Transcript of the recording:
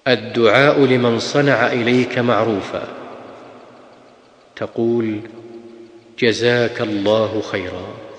الدعاء لمن صنع إليك معروفا، تقول: جزاك الله خيرا.